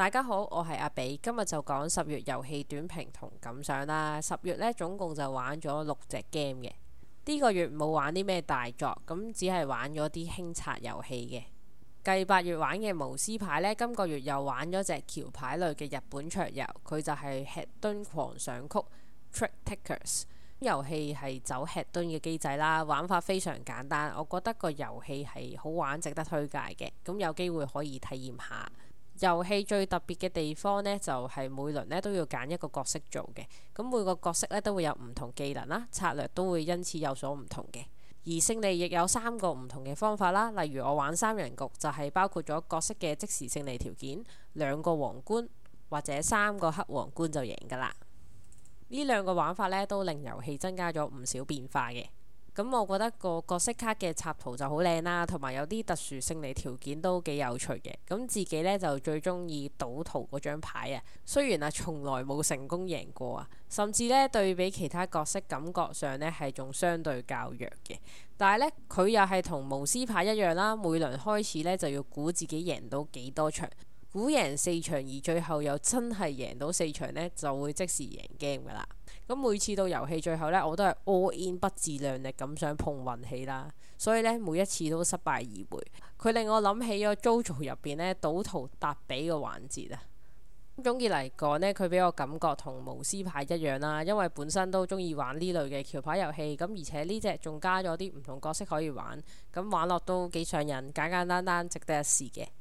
大家好，我係阿比，今日就講10月遊戲短評同感想啦。10月呢，總共就玩咗6隻 game 嘅。呢個月冇玩啲咩大作，咁只係玩咗啲輕策遊戲嘅。繼8月玩嘅巫師牌呢，今個月又玩咗隻橋牌類嘅日本桌遊，佢就係吃墩狂想曲 Trick Takers。遊戲係走吃墩嘅機制啦，玩法非常簡單，我覺得個遊戲係好玩，值得推介嘅。咁有機會可以體驗下。遊戲最特別嘅地方呢，就係每輪呢都要揀一個角色做嘅。咁每個角色呢都會有唔同技能啦，策略都會因此有所唔同嘅。而勝利亦有3個唔同嘅方法啦，例如我玩3人局就係包括咗角色嘅即時勝利條件、2個皇冠或者3個黑皇冠就贏㗎啦。呢2個玩法呢都令遊戲增加咗唔少變化嘅。咁我覺得個角色卡嘅插圖就好靚啦，同埋有啲特殊勝利條件都幾有趣嘅。咁自己呢就最中意賭徒嗰張牌啊，雖然啊從來冇成功贏過啊，甚至呢對比其他角色感覺上呢係仲相對較弱嘅。但係呢，佢又係同巫師牌一樣啦，每輪開始呢就要估自己贏到幾多場，估贏4場而最後又真係贏到4場呢，就會即時贏 game 噶啦。咁每次到遊戲最後呢，我都係 all in 不自量力咁想碰運氣啦，所以呢，每一次都失敗而回。佢令我諗起咗 JoJo 入邊呢賭徒搭比嘅環節啊。總結嚟講呢，佢俾我感覺同巫師牌一樣啦，因為本身都中意玩呢類嘅橋牌遊戲，咁而且呢隻仲加咗啲唔同角色可以玩，咁玩落都幾上癮，簡簡單單值得一試嘅。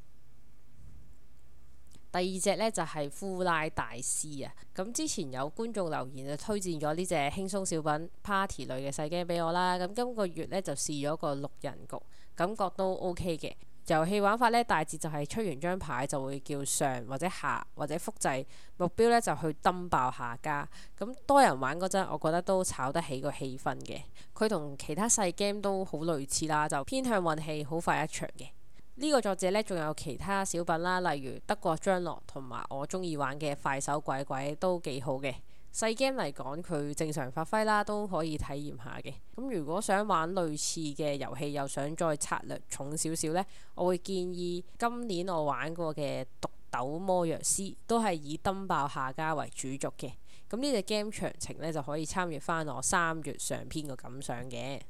第2隻呢，就係呼拉大師啊！咁之前有觀眾留言就推薦咗呢隻輕鬆小品 party 類嘅細 game 俾我啦。咁今個月呢，就試咗個6人局，感覺都 OK 嘅。遊戲玩法呢，大致就係出完張牌就會叫上或者下或者複製，目標呢就去登爆下家。咁多人玩嗰陣，我覺得都炒得起個氣氛嘅。佢同其他細 game 都好類似啦，就偏向運氣，好快一場嘅。呢個作者呢，仲有其他小品啦，例如德國張樂同埋我中意玩嘅快手鬼鬼都幾好嘅。細 game 嚟講，佢正常發揮啦，都可以體驗下嘅。咁如果想玩類似嘅遊戲，又想再策略重少少呢，我會建議今年我玩過嘅毒豆魔藥師，都係以登爆下家為主軸嘅。咁呢隻 game 詳情呢，就可以參閱翻我3月上篇個感想嘅。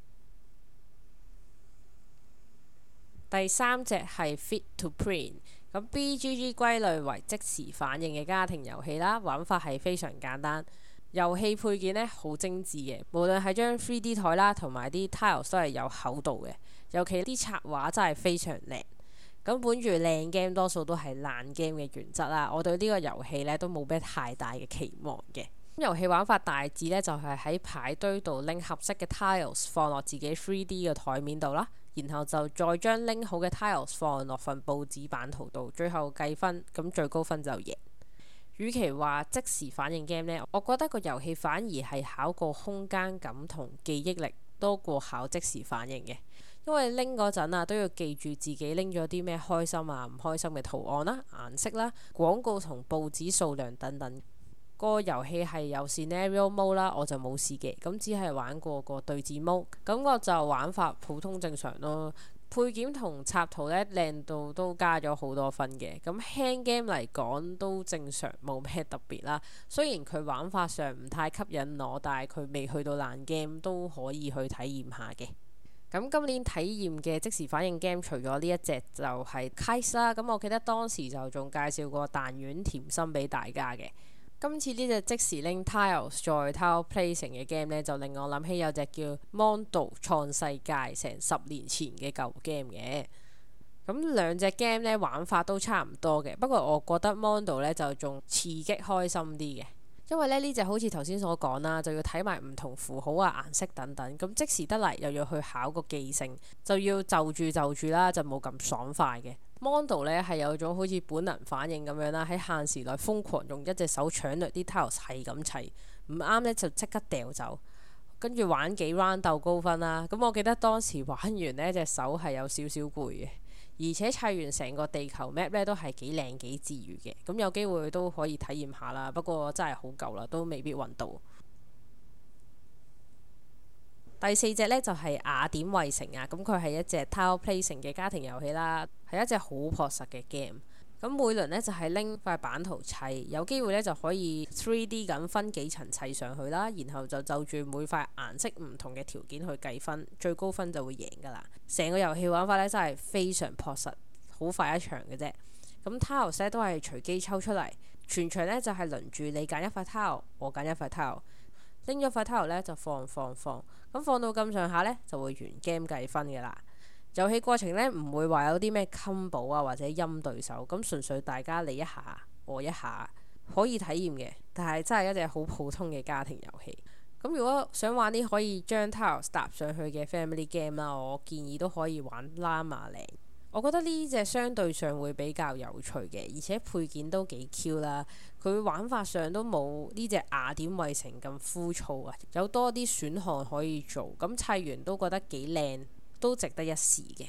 第3隻係 Fit to Print， 咁 BGG 歸類為即時反應嘅家庭遊戲啦，玩法係非常簡單，遊戲配件呢好精緻嘅，無論係張 3D 台啦，同埋啲 tiles 都係有厚度嘅，尤其啲插畫真係非常靚。咁本住靚 game 多數都係爛 game 嘅原則啦，我對呢個遊戲呢都冇咩太大嘅期望嘅。遊戲玩法大致呢，就係喺牌堆度拎合適嘅 tiles 放落自己 3D 嘅台面度啦，然後就再將拎好嘅 tiles 放落份報紙版圖度，最後計分，咁最高分就贏。與其話即時反應 game 呢，我覺得個遊戲反而係考個空間感同記憶力多過考即時反應嘅，因為拎嗰陣啊都要記住自己拎咗啲咩開心啊唔開心嘅圖案啦、顏色啦、廣告同報紙數量等等。個遊戲係有 scenario mode 啦，我就冇試嘅，咁只係玩過個對戰 mode，感覺就玩法普通正常咯。配件同插圖呢，靚到都加咗好多分嘅，咁輕 game 嚟講都正常，冇咩特別啦。雖然佢玩法上唔太吸引我，但係佢未去到爛 game 都可以去體驗下嘅。咁今年體驗嘅即時反應 game 除咗呢一隻就係 Kite 啦，咁我記得當時就仲介紹過彈丸甜心俾大家嘅。今次呢隻即時拎 tiles 再 tile placing 嘅 game 呢，就令我諗起有隻叫 Mondo 創世界，成10年前嘅舊 game 嘅。咁兩隻 game 呢，玩法都差唔多嘅，不過我覺得 Mondo 呢就仲刺激開心啲嘅，因為呢隻好似頭先所講啦，就要睇埋唔同符號啊、顏色等等，咁即時得嚟又要去考個記性，就要就住啦，就冇咁爽快嘅。Mondo 呢係有種好似本能反應咁樣啦，喺限時內瘋狂用一隻手搶掠啲 tiles 係咁砌，唔啱呢就即刻掉走，跟住玩幾 round 鬥高分啦。咁我記得當時玩完呢隻手係有少少攰嘅，而且砌完成個地球 map 呢都係幾靚幾治癒嘅。咁有機會都可以體驗下啦，不過真係好舊啦，都未必揾到。第4隻呢，就係雅典衛城啊，咁佢係一隻 tile placing 嘅家庭遊戲啦，係一隻好樸實嘅 game。 咁每輪呢，就係拎塊版圖砌，有機會呢，就可以 3D 咁分幾層砌上去啦，然後就住每塊顏色唔同嘅條件去計分，最高分就會贏㗎啦。成個遊戲玩法呢，真係非常樸實，好快一場嘅啫。咁 tiles 呢都係隨機抽出嚟，全場呢就係輪住你揀一塊 tile，我揀一塊 tile，拎咗塊 tile 呢就放，咁放到咁上下呢，就會完 game 計分㗎啦。遊戲過程呢，唔會話有啲咩 combo 啊或者陰對手，咁純粹大家你一下我一下可以體驗嘅，但係真係一隻好普通嘅家庭遊戲。咁如果想玩啲可以將 tiles 搭上去嘅 family game 啦，我建議都可以玩 Llama-Land。我覺得呢隻相對上會比較有趣嘅，而且配件都幾 Q 啦。佢玩法上都冇呢隻雅典衛城咁枯燥啊，有多啲選項可以做，咁砌完都覺得幾靚，都值得一試嘅。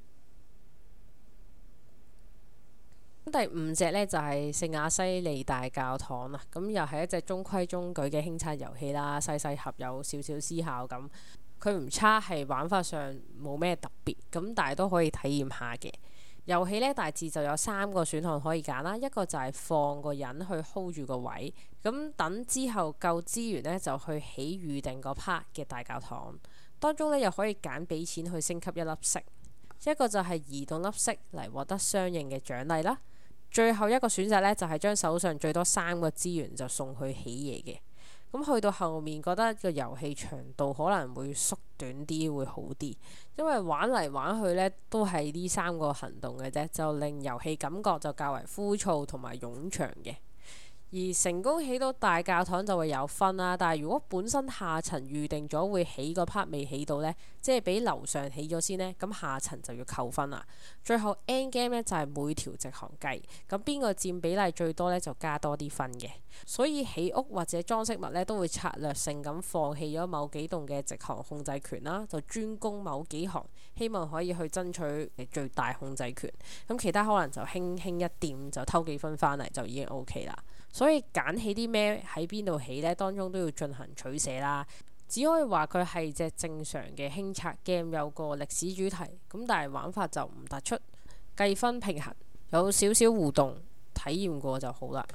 第5隻呢，就係聖亞西利大教堂啦，咁又係一隻中規中矩嘅輕策遊戲啦，細盒有少少思考咁。佢唔差，係玩法上冇咩特別，咁但係都可以體驗下嘅。遊戲呢，大致就有3個選項可以揀啦，一個就係放個人去 hold 住個位，咁等之後夠資源呢，就去起預定個 part 嘅大教堂。當中呢，又可以揀俾錢去升級一粒色，一個就係移動粒色嚟獲得相應嘅獎勵啦。最後一個選擇呢，就係將手上最多3個資源就送去起嘢嘅。咁去到後面覺得個遊戲長度可能會縮短啲會好啲，因為玩嚟玩去呢都係呢3個行動嘅啫，就令遊戲感覺就較為枯燥同埋冗長嘅。而成功起到大教堂就會有分啦，但係如果本身下層預定咗會起個 part 未起到呢，即係俾樓上起咗先呢，咁下層就要扣分啦。最後 end game 呢，就係每條直行計，咁邊個佔比例最多呢，就加多啲分嘅。所以起屋或者裝飾物呢，都會策略性咁放棄咗某幾棟嘅直行控制權啦，就專攻某幾行，希望可以去爭取最大控制權。咁其他可能就輕輕一掂就偷幾分返嚟就已經 OK 啦。所以揀起啲咩喺邊度起呢，當中都要進行取捨啦。只可以話佢係隻正常嘅輕策 game， 有個歷史主題，咁但係玩法就唔突出，計分平衡，有少少互動，體驗過就好啦。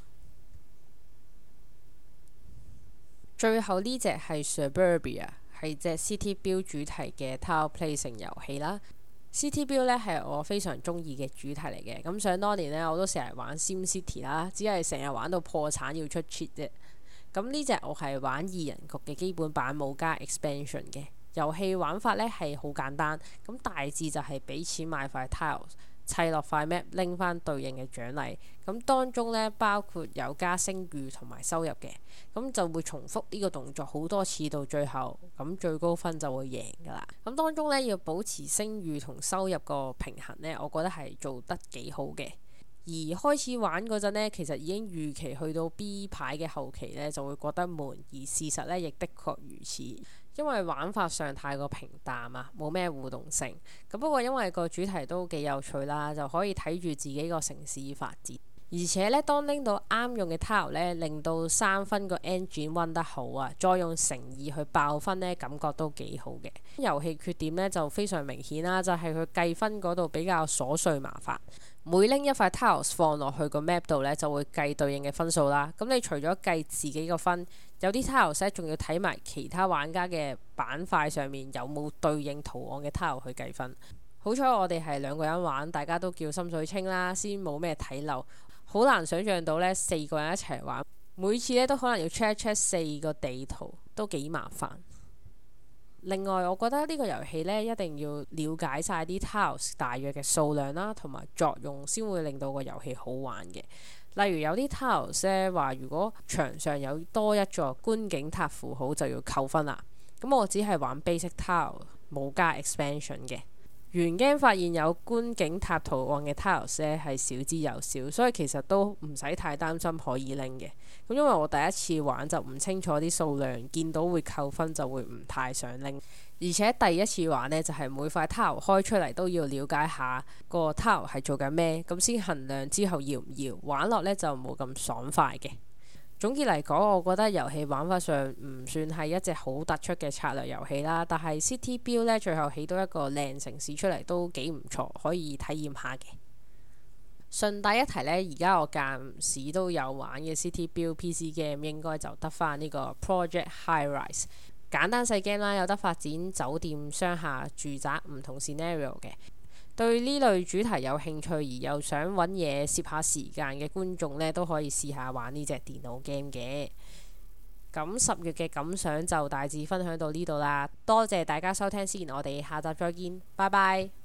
最後呢隻係 Suburbia， 係隻 City Build 主題嘅 Tile Placing 遊戲啦。City Build 呢係我非常中意嘅主題嚟嘅，咁想當年呢，我都成日玩 SimCity 啦，只係成日玩到破產要出 cheat 啫。咁呢隻我係玩2人局嘅基本版，冇加 expansion 嘅。遊戲玩法呢係好簡單，咁大致就係俾錢買塊 tiles，砌落塊 map，拎翻對應嘅獎勵。咁當中呢，包括有加聲譽同埋收入嘅，咁就會重複呢個動作好多次到最後，咁最高分就會贏噶啦。咁當中呢，要保持聲譽同收入個平衡呢，我覺得係做得幾好嘅。而開始玩嗰陣呢，其實已經預期去到 B 牌嘅後期呢就會覺得悶，而事實呢亦的確如此，因為玩法上太過平淡啊，冇咩互動性。咁不過因為個主題都幾有趣啦，就可以睇住自己個城市發展。而且呢，當拎到啱用嘅 tile 呢，令到3分個 engine run 得好啊，再用誠意去爆分呢，感覺都幾好嘅。遊戲缺點呢就非常明顯啦，就係佢計分嗰度比較瑣碎麻煩。每拎一塊 tiles 放落去個 map 度呢，就會計對應嘅分數啦。咁你除咗計自己個分，有啲 tiles 仲要睇埋其他玩家嘅板塊上面有冇對應圖案嘅 tile 去計分。好彩我哋係2個人玩，大家都叫心水清啦，先冇咩睇漏。好難想像到呢4個人一齊玩，每次呢都可能要 check 4個地圖，都幾麻煩。另外，我覺得呢個遊戲呢，一定要了解晒啲 tiles 大約嘅數量啦，同埋作用，先會令到個遊戲好玩嘅。例如有啲 tiles 呢話，如果牆上有多一座觀景塔符號就要扣分啦。咁我只係玩 basic tile，冇加 expansion 嘅。原 game 發現有觀景塔圖案嘅 tiles 呢係少之又少，所以其實都唔使太擔心可以拎嘅。咁因為我第一次玩就唔清楚啲數量，見到會扣分就會唔太想拎。而且第一次玩呢，就係每塊 tile 開出嚟都要了解下個 tile 係做緊咩，咁先衡量之後要唔要玩落呢，就冇咁爽快嘅。總結嚟講，我覺得遊戲玩法上唔算係一隻好突出嘅策略遊戲啦，但係 City Build 呢，最後起到一個靚城市出嚟都幾唔錯，可以體驗下嘅。 順帶一提呢，而家我間唔時都有玩嘅 City Build PC game 應該就得返呢個 Project High Rise， 簡單細 game 啦，有得發展酒店、商廈、住宅唔同 scenario 嘅。對呢類主題有興趣而又想揾嘢攝下時間嘅觀眾呢，都可以試下玩呢隻電腦 game 嘅。咁10月嘅感想就大致分享到呢度啦，多謝大家收聽先，我哋下集再見，拜拜。